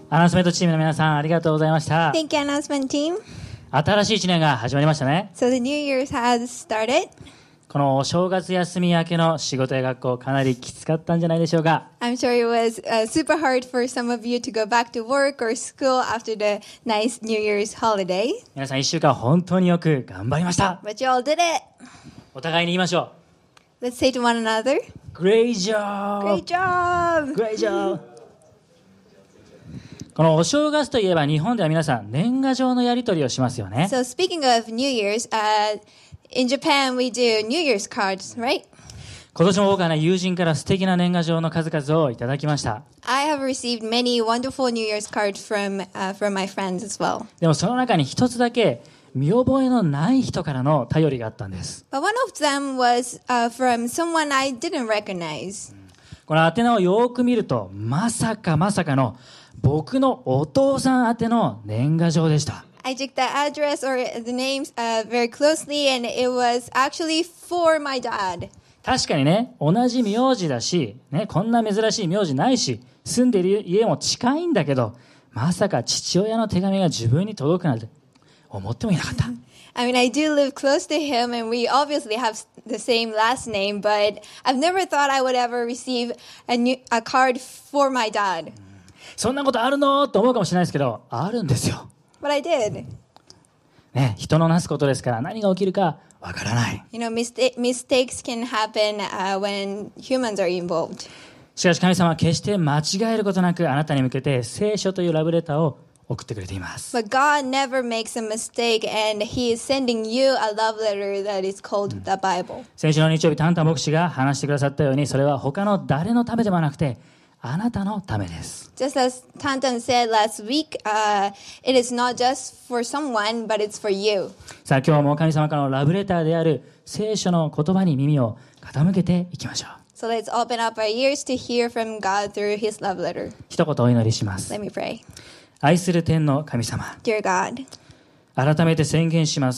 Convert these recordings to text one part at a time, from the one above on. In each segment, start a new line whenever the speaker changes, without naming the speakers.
アナウンスメントチームの皆さん、ありがとうございました。
Thank you, announcement team.
新しい1年が始まりましたね。
So the New Year's has started.
このお正月休み明けの仕事や学校、かなりきつかったんじゃないでしょうか。
I'm sure it was super hard for some of you to go back to work or school after the nice New Year's holiday.
皆さん1週間本当によく頑張りました。
But you all did it.
お互いに言いましょ
Let's say to one another,
う。 Great job!
Great job!
Great job! このお正月といえば日本では皆さん年賀状のやり取りをしますよね。
So speaking of New Year's, in Japan we do New Year's cards, right?
今年も僕は友人から素敵な年賀状の数々をいただきました。
I have received many wonderful New Year's cards from my friends as well.
でもその中に一つだけ見覚えのない人からの頼りがあったんです。
But one of them was from someone I didn't recognize.
この宛名をよく見るとまさかの僕のお父さん宛ての年賀状でした。
I checked the address or the names very closely, and it was actually for my dad.
確かにね、同じ名字だし、ね、こんな珍しい名字ないし、住んでいる家も近いんだけど、まさか父親の手紙が自分に届くなんて思ってもいなかった。
I mean, I do live close to him, and we obviously have the same last name, but I've never thought I would ever receive a card for my dad.
そんなことあるのと思うかもしれないですけど、あるんですよ。
But I did.
ね、人のなすことですから何が起きるかわからない。
You know, mistakes can happen when humans are involved.
しかし神様は決して間違えることなくあなたに向けて聖書というラブレターを送ってくれています。
But God never makes a mistake, and He is sending you a love letter that is called the Bible.
先週の日曜日、タンタン牧師が話してくださったように、それは他の誰のためではなくてあなたのためです。
Just as Tantan said last week, it is not just for someone, but it's for you.
さあ今日も神様からのラブレターである聖書の言葉に耳を傾けていきましょう。
So let's open up our ears to hear from God through His love letter.
一言お祈りします。
Let me pray.
愛する天の神様、
Dear God,
改めて宣言します。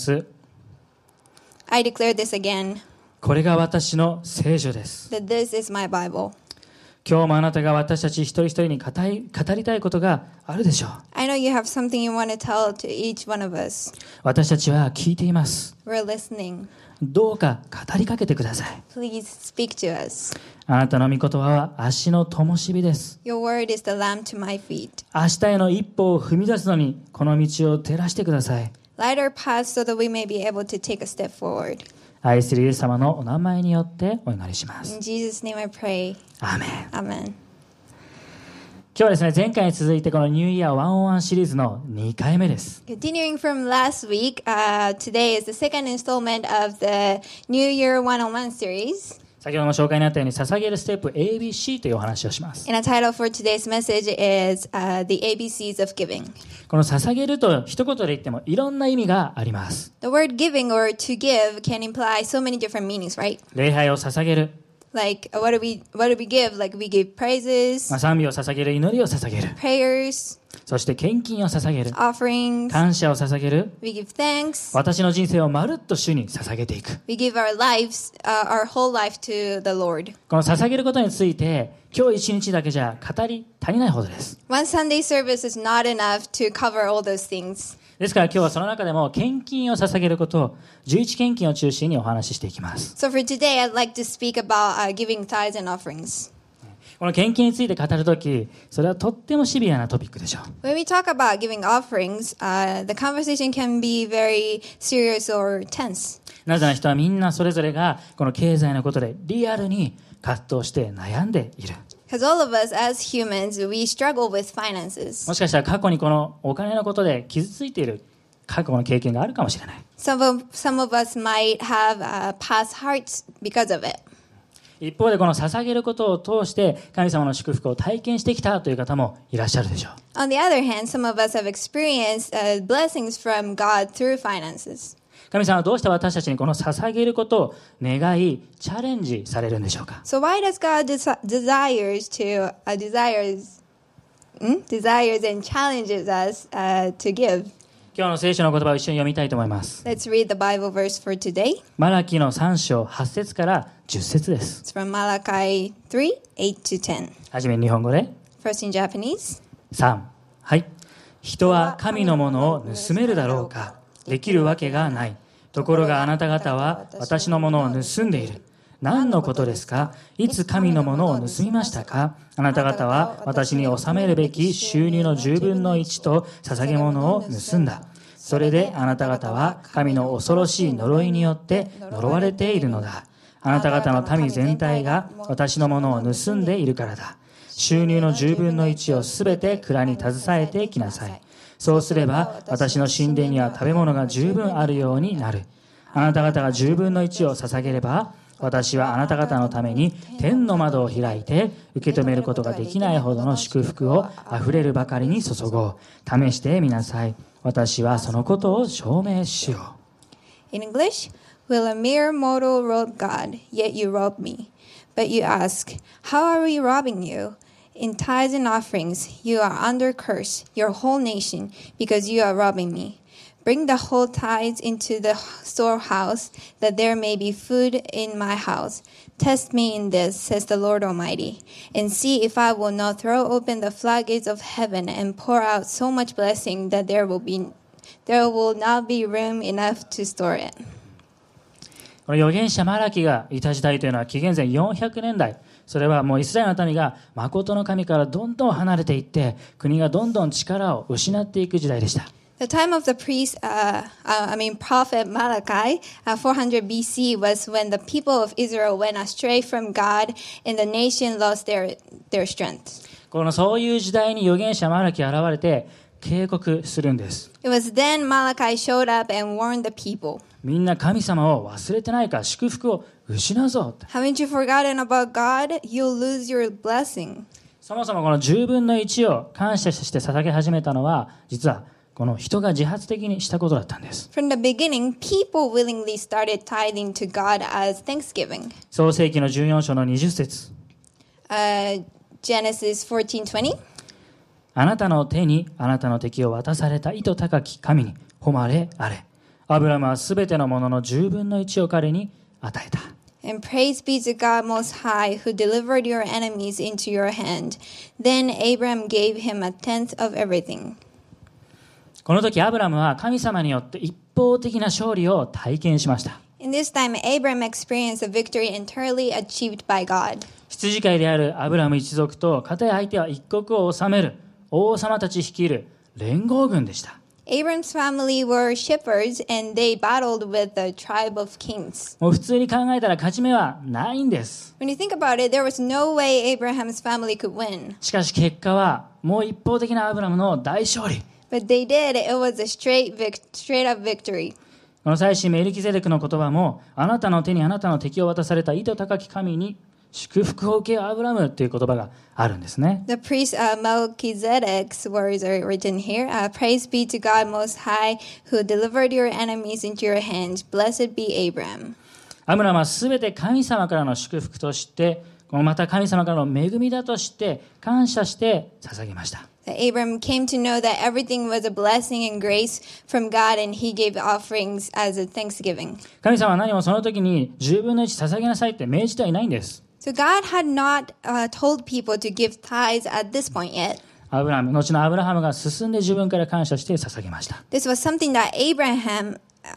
I declare this again,
これが私の聖書です。
that this is my Bible.
今日もあなたが私たち一人一人に語りたいことがあるでしょう。
I know you have something you want to tell to each one of us.
私たちは聞いています。
We're listening.
どうか語りかけてください。
Please speak to us.
あなたの御言葉は足の灯火です。
Your word is the lamp to my feet.
明日への一歩を踏み出すのにこの道を照らしてください。
Light our path so that we may be able to take a step forward.
愛するイエス様のお名前によってお祈りします。
In Jesus' name I pray.
アーメン。
Amen.
今日はですね、前回に続いてこのニューイヤー101シリーズの2回目です。
Continuing from last week, today is the second installment of the New Year 101 series.
先ほども紹介にあったように捧げるステップ ABC というお話をします。
And a title for today's message is The ABCs of Giving.
この捧げると一言で言ってもいろんな意味があります。
The word giving or to give can imply so many different meanings, right?
礼拝を捧げる、
Like, what do we give? Like, we give praises,
賛美を捧げる、祈りを捧げる、
prayers,
そして献金を捧げる、
offerings.
感謝を捧げる、
We give thanks.
私の人生をまるっと主に捧げていく。
We give our lives, our whole life to the Lord.
この捧げることについて今日一日だけじゃ語り足りないほどです。
One Sunday service is not enough to cover all those things.
ですから今日はその中でも献金を捧げることを11献金を中心にお話ししていきます。
So for today, I'd like to speak about giving tithes and offerings.
この献金について語るとき、それはとってもシビアなトピックでしょう。
When we talk about giving offerings, the conversation can be very serious or tense.
なぜなら人はみんなそれぞれがこの経済のことでリアルに葛藤して悩んでいる。
Because all of us as humans, we struggle with finances.
もしかしたら過去にこのお金のことで傷ついている過去の経験があるかもしれない。
Some of us might have past hearts because of it.
一方でこの捧げることを通して神様の祝福を体験してきたという方もいらっしゃるでしょう。
On the other hand, some of us have experienced blessings from God through finances.
神様はどうして私たちにこの捧げることを願いチャレンジされるんでしょうか。
So why does God desires and challenges us to give?
今日の聖書の言葉を一緒に読みたいと思います。
Let's read the Bible verse for today.
マラキの3章8節から10節です。
It's from Malachi 3:8 to 10.
はじめに日本語で
First in Japanese.
3、 はい。人は神のものを盗めるだろうか。できるわけがない。ところがあなた方は私のものを盗んでいる。何のことですか？いつ神のものを盗みましたか？あなた方は私に納めるべき収入の10分の1と捧げ物を盗んだ。それであなた方は神の恐ろしい呪いによって呪われているのだ。あなた方の民全体が私のものを盗んでいるからだ。収入の10分の1をすべて蔵に携えてきなさい。そうすれば私の神殿には食べ物が十分あるようになる。あなた方が10分の1を捧げれば、私はあなた方のために天の窓を開いて受け止めることができないほどの祝福をあふれるばかりに注ごう。試してみなさい。私はそのことを証明しよう。
In English, will a mere mortal rob God, yet you rob me? But you ask, how are we robbing you? In tithes and offerings, you are under curse, your whole nation, because you are robbing me. Bring the whole tithes into the storehouse, that there may be food in my house. Test me in this, says the Lord Almighty, and see if I will not throw open the floodgates of heaven and pour out so much blessing that there will not be room enough to store it.
この預言者マラキがいた時代というのは紀元前400年代。それはもうイスラエルの民が誠の神からどんどん離れていって、国がどんどん力を失っていく時代でした。
The time of the prophet Malachi, 400 BC, was when the people of Israel went astray from God and the nation lost their strength.
そういう時代に預言者マラキが現れて警告するんです。
It was then Malachi showed up and warned the people.
みんな神様を忘れてないか、祝福を失うぞ。
Haven't you forgotten about God? You'll lose your blessing.
そもそもこの10分の1を感謝して捧げ始めたのは、実はこの人が自発的にしたことだったんです。
From the beginning, people willingly started tithing to God as thanksgiving.
創世記の14章の20節。
Genesis 14:20.
あなたの手にあなたの敵を渡された意図高き神に誉れあれ。アブラムはすべてのものの10分の1を彼に与えた。
And praise be to God Most High, who delivered your enemies into your hand. Then Abram gave him a tenth of everything.
この時アブラムは神様によって一方的な勝利を体験しました。
In this time, Abram experienced a victory entirely achieved by God.
羊飼いであるアブラム一族と片や相手は一国を治める王様たち率いる連合軍でした。
Abram's family were shepherds and they battled with the tribe of kings.
もう普通に考えたら勝ち目はないんです。
When you think about it, there was no way Abraham's family could win.
しかし結果はもう一方的なアブラムの大勝利。
But they did. It was a straight up victory.
この祭司メルキゼデクの言葉も、あなたの手にあなたの敵を渡された意図高き神に祝福を受けようアブラムという言葉があるんですね。
The priest Melchizedek's words are written here. Praise be to God Most High, who delivered your enemies into your hands. Blessed be Abram.
アブラムはすべて神様からの祝福として、また神様からの恵みだとして感謝して捧げました。
Abram came to know that everything was a blessing and grace from God, and he gave offerings as a thanksgiving.
神様は何もその時に10分の1捧げなさいって命じてはいないんです。
So God had not told people to give tithes at this point yet.
後のアブラハムが進んで自分から感謝して捧げました。
This was something that Abram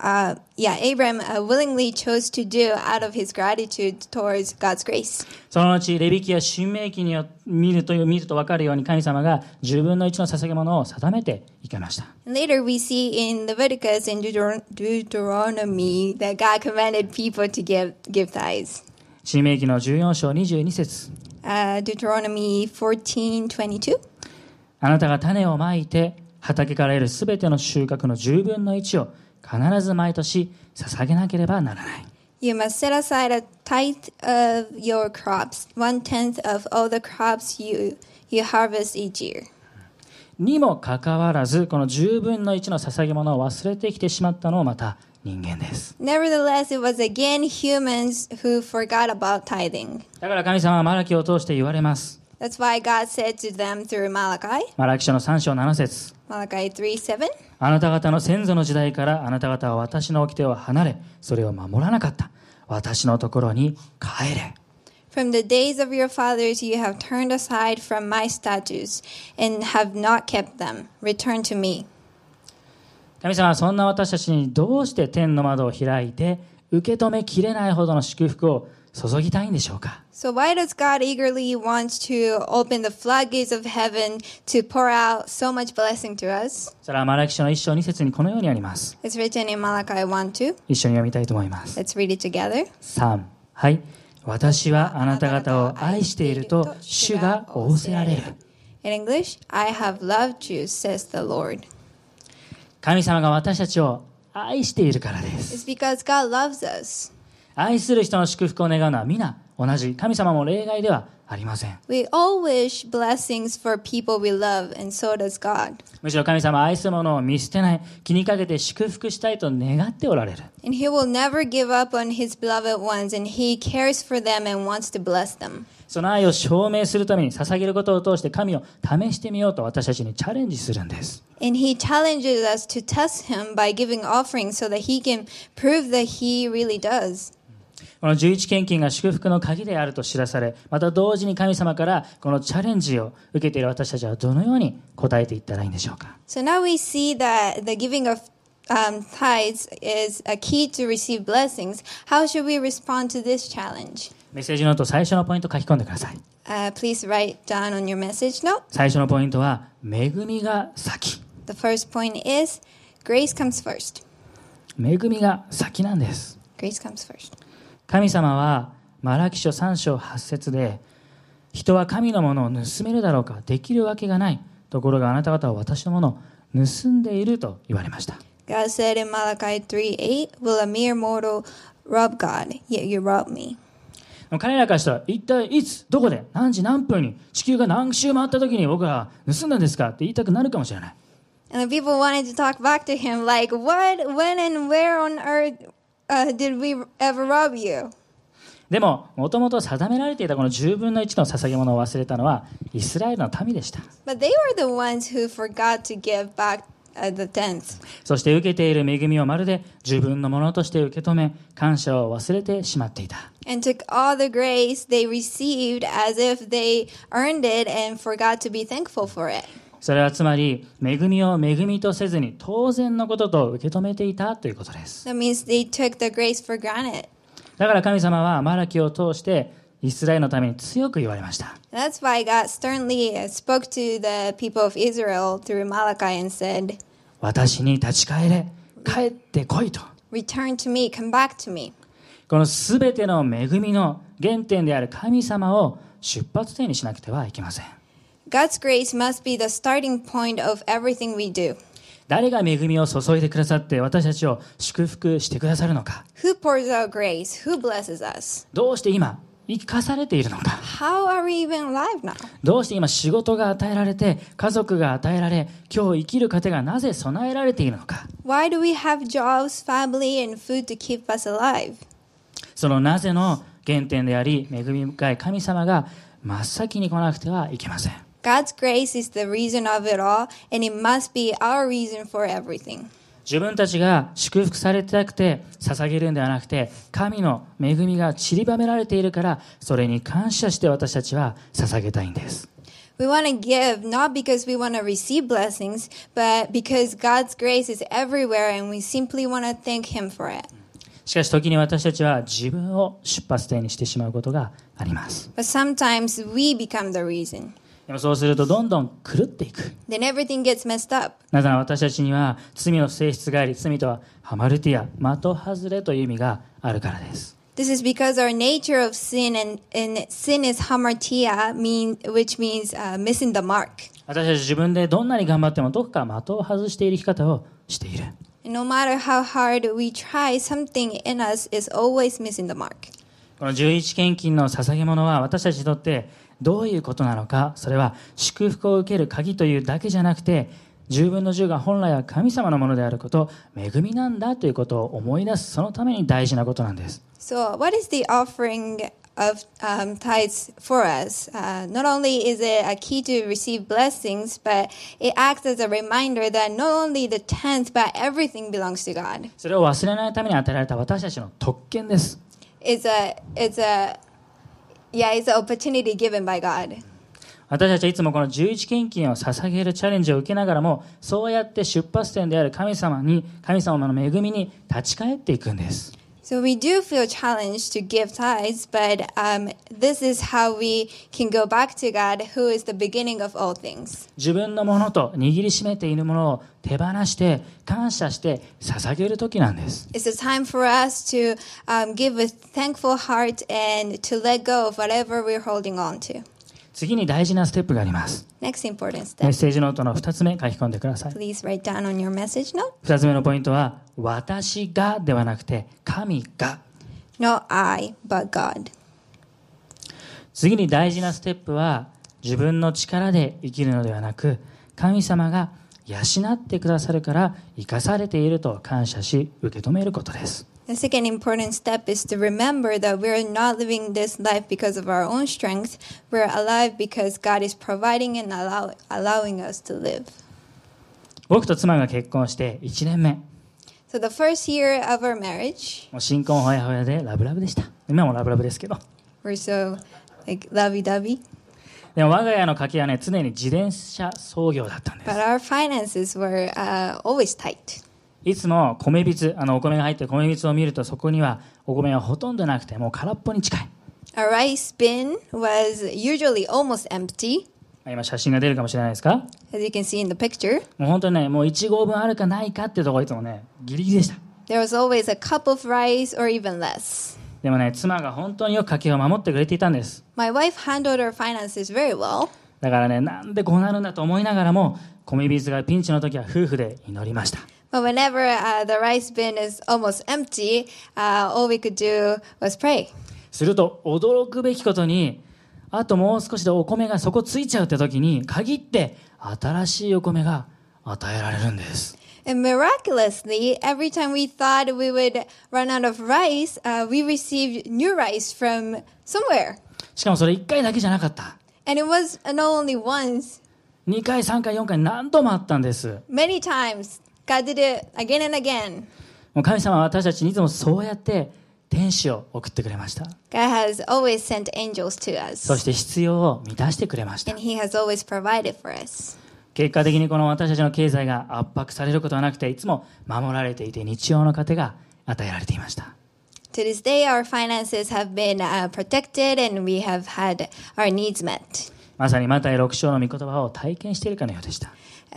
willingly chose to do out of his gratitude towards God's grace.
その後レビ記や申命記に見ると分かるように神様が10分の1の捧げ物を定めていきました。
Later we see in Leviticus and Deuteronomy that God commanded people to give tithes.
申命記の14章22節。
Deuteronomy 14:22.
あなたが種をまいて畑から得るすべての収穫の10分の1を必ず毎年捧げなければならない。
You must set aside a tithe of your crops, 1/10 of all the crops you harvest each year.
にもかかわらず、この10分の1の捧げ物を忘れてきてしまったのもまた人間です。
Nevertheless, it was again humans who forgot about tithing.
だから神様はマラキを通して言われます。
That's why God said to them through Malachi.
マラキ書の3章7節。
Malachi 3:7.
あなた方の先祖の時代からあなた方は私の掟を離れ、それを守らなかった。私のところに帰れ。
From the days of your fathers you have turned aside from my statutes and have not kept them. Return to me.
神様はそんな私たちにどうして天の窓を開いて受け止めきれないほどの祝福を注ぎたいんでしょうか。
So why does God eagerly want to open the floodgates of heaven to pour out so much blessing to us?
それはマラキ書の1章2節にこのようにあります。
It's written in Malachi 1:2.
一緒に読みたいと思います。
Let's read it together.
3、はい。私はあなた方を愛していると主が仰せられる。
In English, I have loved you, says the Lord.
神様が私たちを愛しているからです。
It's because God loves us.
愛する人の祝福を願うのは皆同じ。神様も例外ではありません。
We all wish blessings for people we love, and so does God.
むしろ神様は愛する者を見捨てない、気にかけて祝福したいと願っておられる。
And He will never give up on His beloved ones, and He cares for them and wants to bless them.
その愛を証明するために捧げることを通して神を試してみようと私たちにチャレンジするんです。
And He challenges us to test Him by giving offerings so that He can prove that He really does.
この11献金が祝福の鍵であると知らされ、また同時に神様からこのチャレンジを受けている私たちはどのように答えていったらいいんでしょうか。
So now we see that the giving of tithes is a key to receive blessings. How should we respond to this challenge?
メッセージノート最初のポイントを書き込んでください。
Please write down on your message note.
最初のポイントは恵みが先。
The first point is grace comes first.
恵みが先なんです。
Grace comes first.
神様はマラキ書3章8節で、人は神のものを盗めるだろうか、できるわけがない。ところがあなた方は私のものを盗んでいると言われました。
God said in Malachi 3:8, Will a mere mortal rob God? Yet you rob me.
彼らからしたら一体いつどこで何時何分に地球が何周回った時に僕らは盗んだんですかって言いたくなるかもしれない。
And the people wanted to talk back to him like, What, when, and where on earth did we ever rob you?
でももともと定められていたこの10分の1の捧げ物を忘れたのはイスラエルの民でした。
But they were the ones who forgot to give back the tenth.
そして受けている恵みをまるで自分のものとして受け止め、感謝を忘れてしまっていた。
And took all the grace they received as if they earned it and forgot to be thankful for it.
それはつまり恵みを恵みとせずに当然のことと受け止めていたということです。
That means they took the grace for granted.
だから神様はマラキを通してイスラエルのために強く言われました。
That's why God sternly spoke to the people of Israel through Malachi and said,
私に立ち返れ、帰ってこいと。
Return to me, come back to me.
このすべての恵みの原点である神様を出発点にしなくてはいけません。
God's grace must be the starting point of everything we do.
誰が恵みを注いでくださって私たちを祝福してくださるのか。
Who pours out grace? Who blesses us?
どうして今生かされているのか。
How are we even alive now?
どうして今仕事が与えられて家族が与えられ今日生きる糧がなぜ備えられているのか。
Why do we have jobs, family, and food to keep us alive?
そのなぜの原点であり恵み深い神様が真っ先に来なくてはいけません。
God's grace is the reason of it all, and it must be our reason for everything.
自分たちが祝福されたくて捧げるんではなくて、神の恵みが散りばめられているからそれに感謝して私たちは捧げたいんです。
We want to give not because we want to receive blessings, but because God's grace is everywhere and we simply want to thank Him for it.
しかし時に私たちは自分を出発点にしてしまうことがあります。
But sometimes we become the reason.
でもそうするとどんどん狂っていく。
Then everything gets messed up.
なぜなら私たちには罪の性質があり、罪とはハマルティア、的外れという意味があるからです。
This is because our nature of sin and sin is hamartia, which means missing the mark.
私たち自分でどんなに頑張ってもどこか的を外している生き方をしている。
And no matter how hard we try, something in us is always missing the mark.
この11献金の捧げ物は私たちにとってどういうことなのか。それは祝福を受ける鍵というだけじゃなくて、10分の10が本来は神様のものであること、恵みなんだということを思い出す、そのために大事なことなんです。
So what is the offering of tithes for us? Not only is it a key to receive blessings, but it acts as a reminder that not only the tenth, but everything belongs to God.
それを忘れないために与えられた私たちの特権です。
It's Yeah, it's an opportunity given by God.
私たちはいつもこの11献金を捧げるチャレンジを受けながらも、そうやって出発点である神様の恵みに立ち返っていくんです。
So we do feel challenged to give tithes, but this is how we can go back to God, who is the beginning of all things.
自分のものと握りしめているものを手放して感謝して捧げる時なんです。
It's a time for us to give with thankful heart and to let go of whatever we're holding on to.
次に大事なステップがあります。
Next important
メッ
step.
セージノートの2つ目書き込んでください。
Please write down on your message note.
2つ目のポイントは、私がではなくて神が。
Not I, but God.
次に大事なステップは、自分の力で生きるのではなく、神様が養ってくださるから生かされていると感謝し受け止めることです。
The second important step is to remember that we're not living this life because of our own strength. We're alive because God is providing and allowing us to live.
僕と妻が結婚して1年目。
So the first year of our marriage,
もう新婚ほやほやでラブラブでした。今もラブラブですけど。
we're so like lovey-dovey.
でも我が家の家計はね、常に自転車操業だったんです。
But our finances were always tight.
いつも米びつ、お米が入ってる米びつを見ると、そこにはお米はほとんどなくて、もう空っぽに近い。
Our rice bin was usually almost empty,
今写真が出るかもしれないですか。
as you can see in the picture.
もう本当にね、もう1合分あるかないかっていうところいつもね、ギリギリでした。
There was always a cup of rice or even less.
でもね、妻が本当によく家計を守ってくれていたんです。
My wife handled her finances very well.
だからね、なんでこうなるんだと思いながらも、米びつがピンチの時は夫婦で祈りました。
But whenever the rice bin is almost empty, all we could do was pray.
すると驚くべきことに、あともう少しでお米が底ついちゃうって時に限って新しいお米が与えられるんです。
And miraculously, every time we thought we would run out of rice, we received new rice from somewhere.
しかもそれ1回だけじゃなかった。
And it was not only once,
2回3回4回何度もあったんです。
many times. God did it again and again.
もう神様は私たちにいつもそうやって天使を送ってくれました。
God has always sent angels to
そ
us.
して必要を満たしてくれました。
And He has always provided for us.
結果的にこの私たちの経済が圧迫されることはなくて、いつも守られていて日常の糧が与えられていました。
To this day, our finances have been protected and we have had our needs met.
まさにマタイ6章の御言葉を体験しているかのようでした。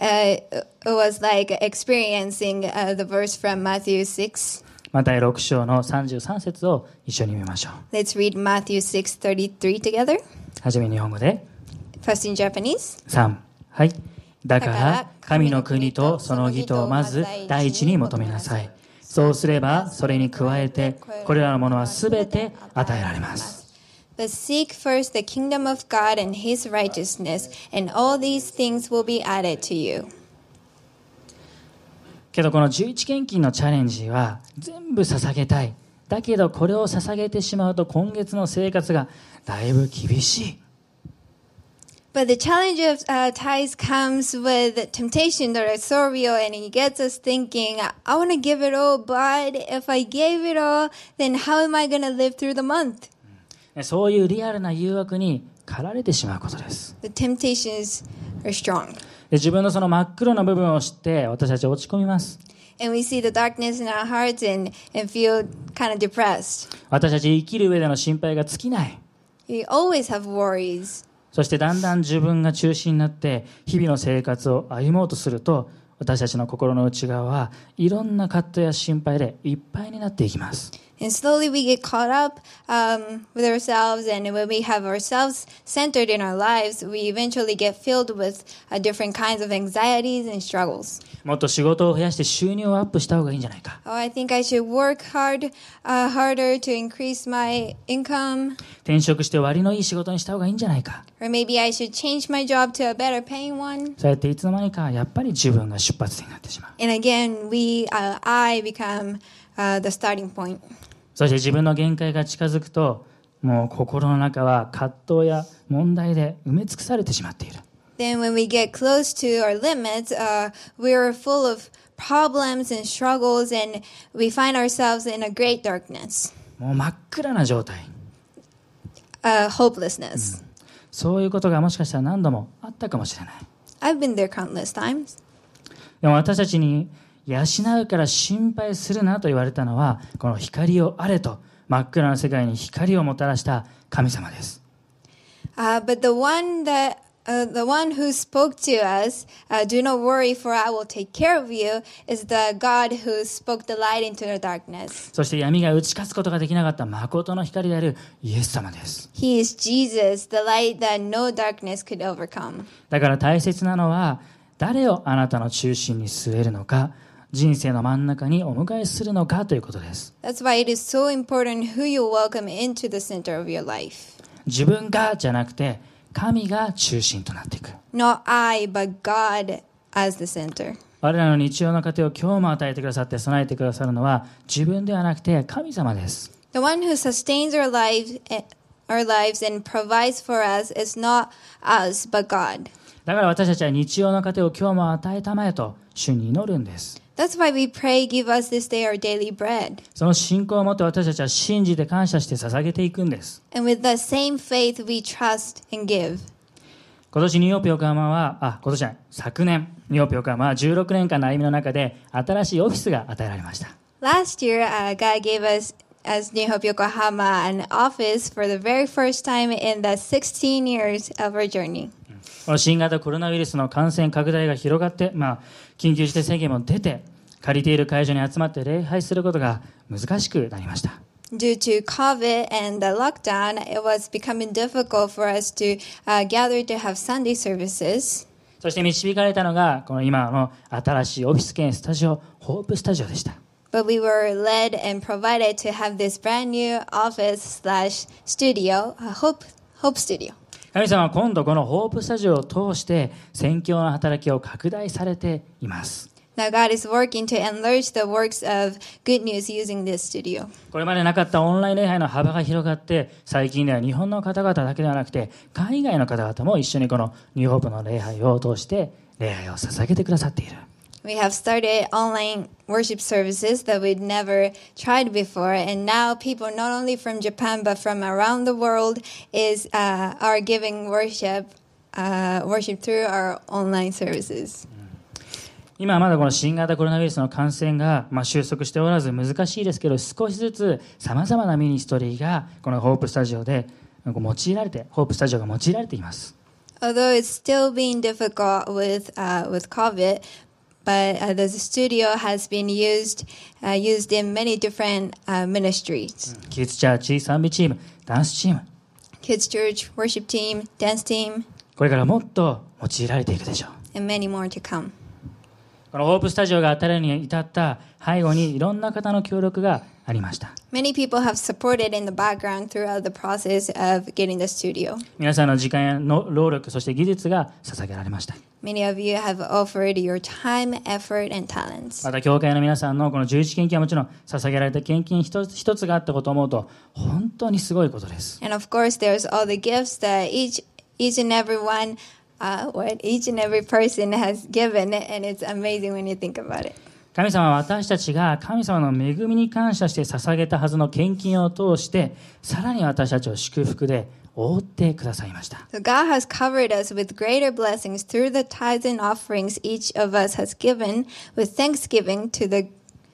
It was like experiencing the verse from Matthew 6.
マタイ6章の33節を一緒に見ましょう。
Let's read Matthew 6:33 together.
はじめ日本語で
First in Japanese.
3、はい。だから神の国とその義とをまず第一に求めなさい。そうすればそれに加えてこれらのものはすべて与えられます。
But seek first the kingdom of God and His righteousness, and all these things will be added to you.
けどこの11献金のチャレンジは全部捧げたい。だけどこれを捧げてしまうと今月の生活がだいぶ厳しい。
But the challenge of tithes comes with temptation that is so real, and it gets us thinking, I want to give it all, but if I gave it all, then how am I going to live through the month?
そういうリアルな誘惑に駆られてしまうことです。
The temptations are strong.
で自分のその真っ黒な部分を知って私たち落ち込みます。
And we see the darkness in our hearts and feel kind of depressed.
私たち生きる上での心配が尽きない。
We always have worries.
そしてだんだん自分が中心になって日々の生活を歩もうとすると、私たちの心の内側はいろんな葛藤や心配でいっぱいになっていきます。
And slowly we get caught up with ourselves, and when we have ourselves centered in our lives, we eventually get filled with different kinds of anxieties and struggles.
もっと仕事を増やして収入をアップした方がいいんじゃないか。
Oh, I think I should work harder to increase my income.
転職して割のいい仕事にした方がいいんじゃないか。
Or maybe I should change my job to a better paying one.
そうやっていつの間にかやっぱり自分が出発点になってしまう。
And again, I become the starting point.
そして自分の限界が近づくと、もう心の中は葛藤や問題で埋め尽くされてしまっている。
Then when we get close to our limits, we're full of problems and struggles, and we find ourselves in a great darkness.
もう真っ暗な状態。
hopelessness.
そういうことがもしかしたら何度もあったかもしれない。
I've been there countless times.
でも私たちに養うから心配するなと言われたのは、この光をあれと真っ暗な世界に光をもたらした神様です。
But the one who spoke to us, do not worry, for I will take care of you, is the God who spoke the light into the darkness.
そして闇が打ち勝つことができなかった誠の光であるイエス様です。
He is Jesus, the light that no darkness could overcome.
だから大切なのは、誰をあなたの中心に据えるのか、人生の真ん中にお迎えするのかということです。
That's why it is so important who you welcome into the center of your life.
自分がじゃなくて、神が中心となっていく。
Not I, but God as the center.
我らの日常の糧を今日も与えてくださって備えてくださるのは自分ではなくて神様です。
The one who sustains our lives and provides for us is not us, but God.
だから私たちは日常の糧を今日も与えたまえと主に祈るんです。
That's why we pray, give us this day our daily bread.
その信仰を持って私たちは信じて感謝して捧げていくんです。
And with the same faith, we trust and give.
今年ニューヨーク横浜は、昨年ニューヨーク横浜は16年間の歩みの中で新しいオフィスが与えられました。
Last year, God gave us, as New Hope Yokohama, an office for the very first time in the 16 years of our journey.
この新型コロナウイルスの感染拡大が広がって、緊急事態宣言も出て、借りている会場に集まって礼拝することが難しくなりました。
Due to COVID and the lockdown, it was becoming difficult for us to gather to have Sunday services.
そして導かれたのが、この今の新しいオフィス兼スタジオ、ホープスタジオでした。
But we were led and provided to have this brand new office/studio, Hope Studio.
神様は今度このホープスタジオを通して宣教の働きを拡大されています。
Now God is working to enlarge the works of good news using this studio.
これまでなかったオンライン礼拝の幅が広がって、最近では日本の方々だけではなくて海外の方々も一緒にこのニューホープの礼拝を通して礼拝を捧げてくださっている。
We have started online worship services that we'd never tried before, and now people not only from Japan but from around the world are giving worship through our online services.
今はまだこの新型コロナウイルスの感染が収束しておらず難しいですけど、少しずつさまざまなミニストリーがこのホープスタジオでホープスタジオが用いられています。
Although it's still being difficult with COVID, but the studio has been used in many different ministries.
キッズチャーチ、賛美チーム、ダンスチーム、
Kids Church, Worship Team, Dance Team,
これからもっと用いられていくでしょう。
and many more to come.
このホープスタジオが当たるに至った背後にいろんな方の協力がありました。
Many people have supported in the background throughout the process of getting the studio.
皆さんの時間やの労力、そして技術が捧げられました。
Many of you have offered your time, effort, and talents.
また教会の皆さんのこの11献金はもちろん捧げられた献金一つ一つがあったことを思うと本当にすごいことです。
And of course, there's all the gifts that each and every one, each and every person has given, and it's amazing when you think about it.
神様は私たちが神様の恵みに感謝して捧げたはずの献金を通してさらに私たちを祝福で覆ってくださいました。
So God has covered us with greater blessings through the tithes and offerings each of us has given, with thanksgiving to the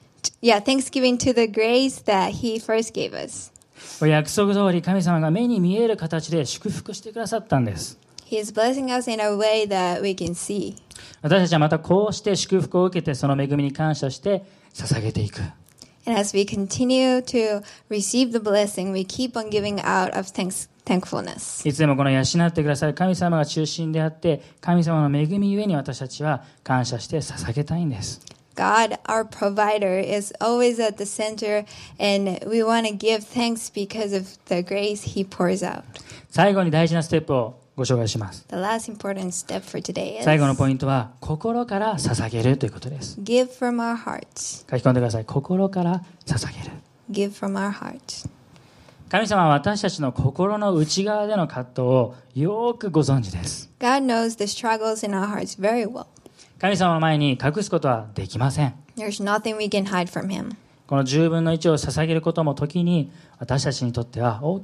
grace that He first gave us.
約束通り神様が目に見える形で祝福してくださったんです。
He is blessing us in a way that we can see.
私たちはまたこうして祝福を受けてその恵みに感謝して捧げていく。
And as we continue to receive the blessing, we keep on giving out of thankfulness.
いつでもこの養ってくださる神様が中心であって神様の恵みゆえに私たちは感謝して捧げたいんです。
God, our provider, is always at the center, and we want to give thanks because of the grace He pours out.
最後に大事なステップをご紹介します。
The last important step for today is
最後のポイントは心から捧げるということです。
give from our hearts.
書き込んでください。心から捧げる。
Give from our hearts.
神様は私たちの心の内側での葛藤をよくご存知です。
God knows the struggles in our hearts very well.
神様の前に隠すことはできません。
There's nothing we can hide from Him.
この10分の1を捧げることも時に私たちにとっては大きな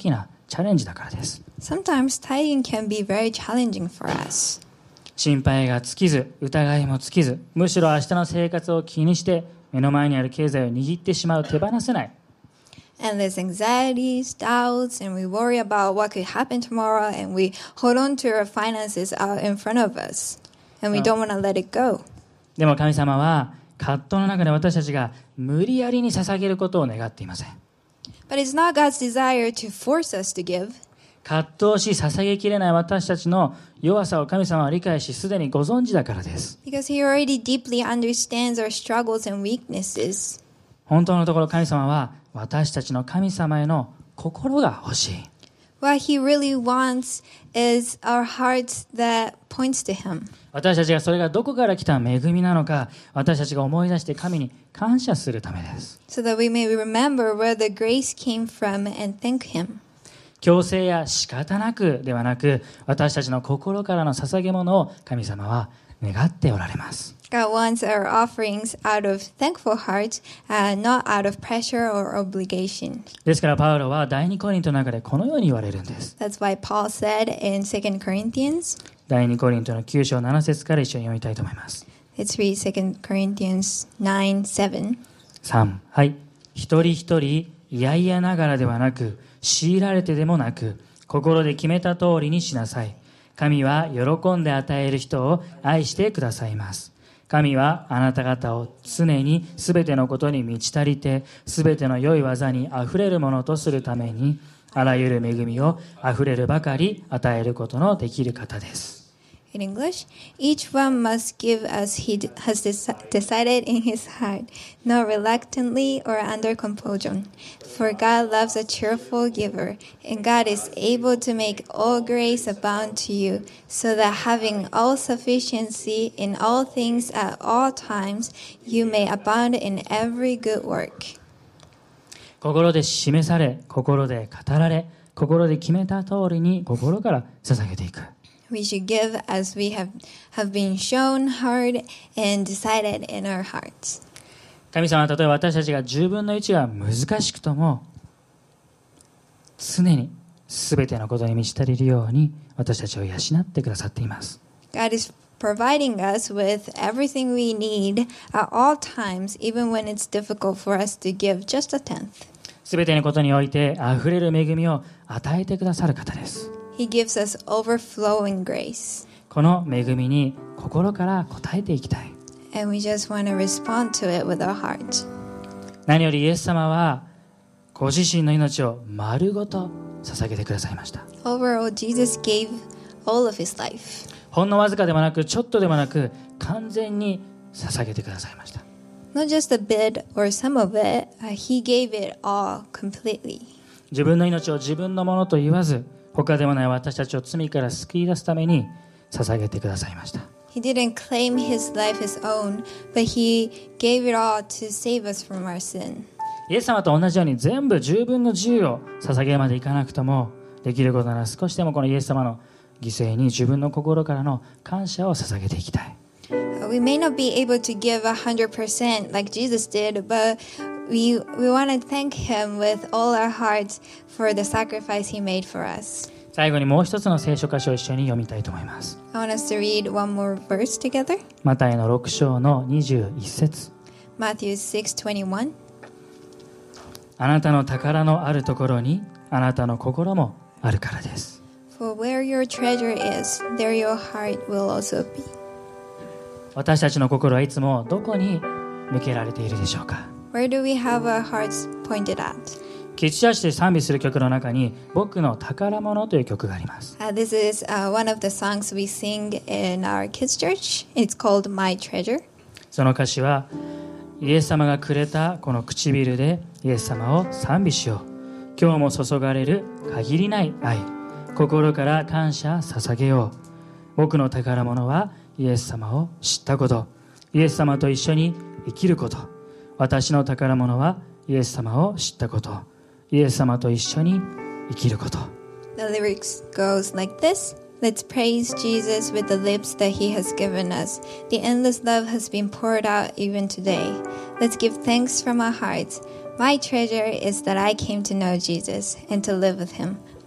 チャレンジだからです。
Sometimes tithing can be very challenging for us.
心配が尽きず、疑いも尽きず、むしろ明日の生活を気にして目の前にある経済を握ってしまう、手放せない。
Endless anxieties, doubts, and we worry about what could happen tomorrow, and we hold on to our finances out in front of us, and we don't want to let it go.
でも神様は葛藤の中で私たちが無理やりに捧げることを願っていません。
But it's not God's desire to force us to give.
葛藤し捧げきれない私たちの弱さを神様は理解し、すでにご存知だからです。
Because He already deeply understands our struggles and weaknesses.
本当のところ神様は私たちの神様への心が欲しい。
What He really wants is our hearts that points to Him.
私たちがそれがどこから来た恵みなのか、私たちが思い出して神に感謝するためです。
So that we may remember where the grace came from and thank Him.
強制や仕方なくではなく、私たちの心からの捧げ物を神様は願っておられます。
God wants our offerings out of thankful hearts, not out of pressure or obligation.
ですからパウロは第2コリントの中でこのように言われるんです。
That's why Paul said in 2 Corinthians,
第2コリントの9章7節から一緒に読みたいと思います。
let's read 2 Corinthians 9:7.
3、はい。一人一人嫌々ながらではなく、強いられてでもなく、心で決めた通りにしなさい。神は喜んで与える人を愛してくださいます。神はあなた方を常にすべてのことに満ち足りて、すべての良い技にあふれるものとするために、あらゆる恵みをあふれるばかり与えることのできる方です。
In English, each one must give as he has decided in his heart, not reluctantly or under compulsion. For God loves a cheerful giver, and God is able to make all grace abound to you, so that having all sufficiency in all things at all times, you may abound in every good work.
心で示され、心で語られ、心で決めた通りに心から捧げていく。
We should give as we have been shown, heard, and decided in our hearts.
神様は例えば私たちが10分の1が難しくとも、常に全てのことに満ち足りるように私たちを養ってくださっています。
God is providing us with everything we need at all times, even when it's difficult for us to give just a tenth.
全てのことにおいてあふれる恵みを与えてくださる方です。
He gives us overflowing grace.
この恵みに心から応えていきたい。
And we just want to respond to it with our heart.
何よりイエス様はご自身の命を丸ごと捧げてくださいました。
Overall, Jesus gave all of his life.
ほんのわずかでもなく、ちょっとでもなく、完全に捧げてくださいました。
Not just a bit or some of it, he gave it all completely.
自分の命を自分のものと言わず、他でもない私たちを罪から救い出すために捧げてくださいました。
He didn't claim his life his own, but he gave it all to save us from our sin.
イエス様と同じように全部10分の10を捧げるまでいかなくとも、できることなら少しでもこのイエス様の犠牲に自分の心からの感謝を捧げていきたい。
We may not be able to give 100% like Jesus did, but we want to thank him with all our hearts for the sacrifice he made for us.
最後にもう一つの聖書箇所を一緒に読みたいと思います。
I want us to read one more verse together.
マタイの6章の21節。
Matthew 6:21.
あなたの宝のあるところにあなたの心もあるからです。
For where your treasure is, there your heart will also be.
私たちの心はいつもどこに向けられているでしょうか。
Where do we have our hearts pointed at?
キッチンチャーチで賛美する曲の中に僕の宝物という曲があります。
This is one of the songs we sing in our kids' church. It's called My Treasure.
その歌詞は、イエス様がくれたこの唇でイエス様を賛美しよう。今日も注がれる限りない愛。心から感謝捧げよう。僕の宝物はイエス様を知ったこと。イエス様と一緒に生きること。私の宝物はイエス様を知ったこと。イエス様と一緒に生きること。
The lyrics goes like this. Let's praise Jesus with the lips that he has given us. The endless love has been poured out even today. Let's give thanks from our hearts. My treasure is that I came to know Jesus and to live with him.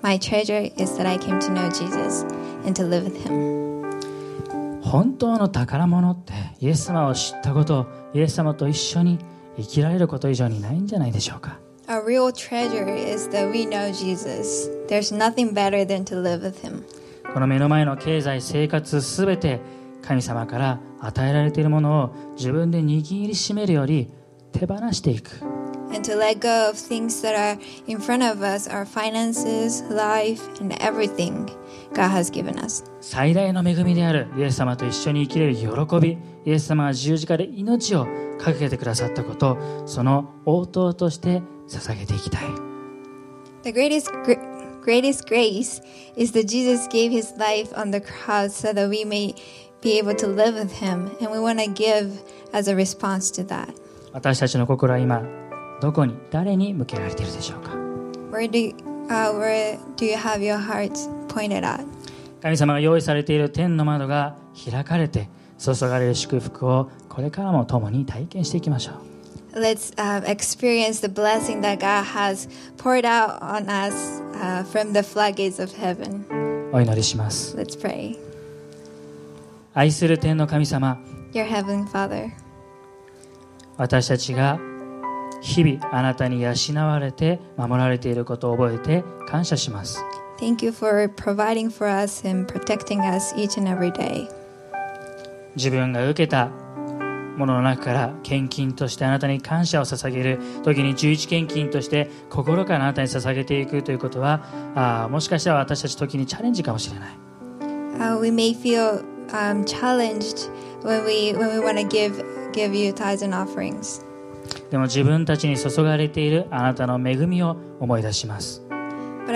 My treasure is that I came to know Jesus and to live with him.
本当の宝物ってイエス様を知ったこと、イエス様と一緒に生きられること以上にないんじゃないでしょうか。
A real treasure is that we know Jesus. There's nothing better than to live with him.
この目の前の経済、生活すべて神様から与えられているものを自分で握りしめるより手放していく。
And to let go of things that are in front of us, our finances, life, and everything God has given us.
最大の恵みであるイエス様と一緒に生きれる喜び、イエス様が十字架で命をかけてくださったこと、その応答として捧げていきたい。
The greatest grace is that Jesus gave his life on the cross so that we may be able to live with him, and we want to give as a response to that.
私たちの心は今どこに誰に向けられているでしょうか。
Where do you have your hearts pointed at?
神様が用意されている天の窓が開かれて注がれる祝福をこれからも共に体験していきましょう。
Let's experience the blessing that God has poured out on us from the floodgates of heaven.
お祈りします。
Let's pray.
愛する天の神様、
Your Heavenly Father,
私たちが日々あなたに養われて守られていることを覚えて感謝します。
thank you for providing for us and protecting us each and every day.
自分が受けたものの中から献金としてあなたに感謝を捧げる時に11献金として心からあなたに捧げていくということはもしかしたら私たち時にチャレンジかもしれない。
We may feel challenged when we want to give you tithes and offerings.
でも自分たちに注がれているあなたの恵みを思い出します。
But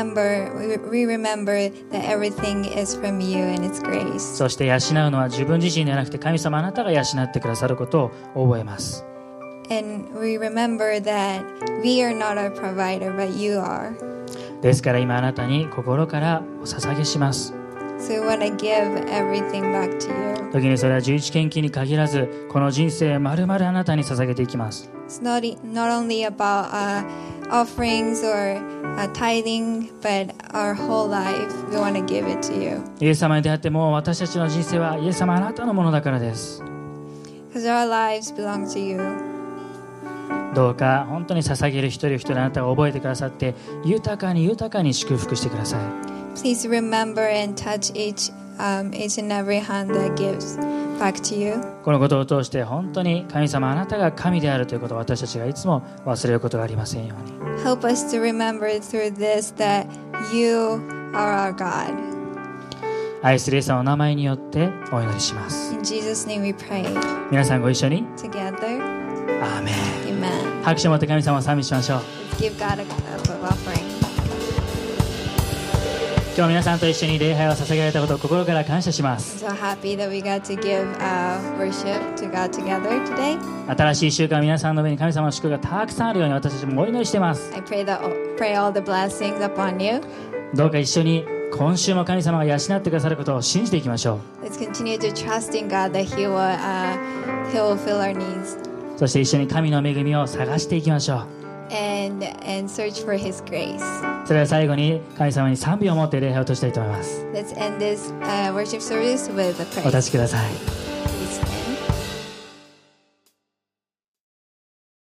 we remember that everything is from you and it's grace.
そして養うのは自分自身ではなくて神様あなたが養ってくださることを覚えます。
And we remember that we are not our provider, but you are.
ですから今あなたに心からお捧げします。
So we want to give everything back to you.
時にそれは11献金に限らずこの人生まるまるあなたに捧げていきます。
It's not only about offerings or tithing, but our whole life. We want to give it to you.
イエス様に出会ってもう私たちの人生はイエス様あなたのものだからです。
Because our lives belong to you.
どうか本当に捧げる一人一人あなたが覚えてくださって豊かに豊かに祝福してください。
Please remember and touch each and every hand that gives back to you.
このことを通して本当に神様あなたが神であるということを私たちがいつも忘れることがありませんように。
Help us to remember through this that you are our God.
愛するイエス様の名前によってお祈りします。
In Jesus' name we pray.
皆さんご一緒に
Together,
アーメン。
amen.
拍手を持って神様を賛美しましょう。
Let's give God a cup of offering.
今日皆さんと一緒に礼拝を捧げられたことを心から感謝します。
I'm so happy that we got to give worship to God together today.
新しい1週間皆さんの上に神様の祝福がたくさんあるように私たちもお祈りしています。
I pray all the blessings upon you.
どうか一緒に今週も神様が養ってくださることを信じていきましょう。
Let's continue to trust in God that He will fill our needs
そして一緒に神の恵みを探していきましょう。
and search for His grace.
それでは最後に神様に賛美を持って礼拝をとしたいと思います。
Let's end this worship service with a
お
prayer.
立ちください。